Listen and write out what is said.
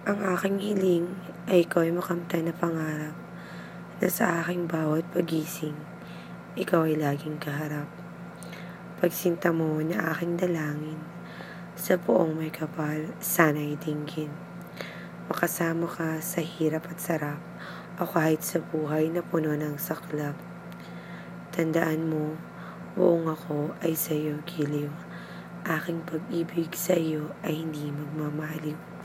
Ang aking hiling ay ikaw ay makamtan na pangarap na sa aking bawat pagising, ikaw ay laging kaharap. Pagsinta mo na aking dalangin, sa buong may kapal, sana'y dinggin. Makasama ka sa hirap at sarap, o kahit sa buhay na puno ng saklap. Tandaan mo, buong ako ay sa'yo giliw. Aking pag-ibig sa'yo ay hindi magmamaliw.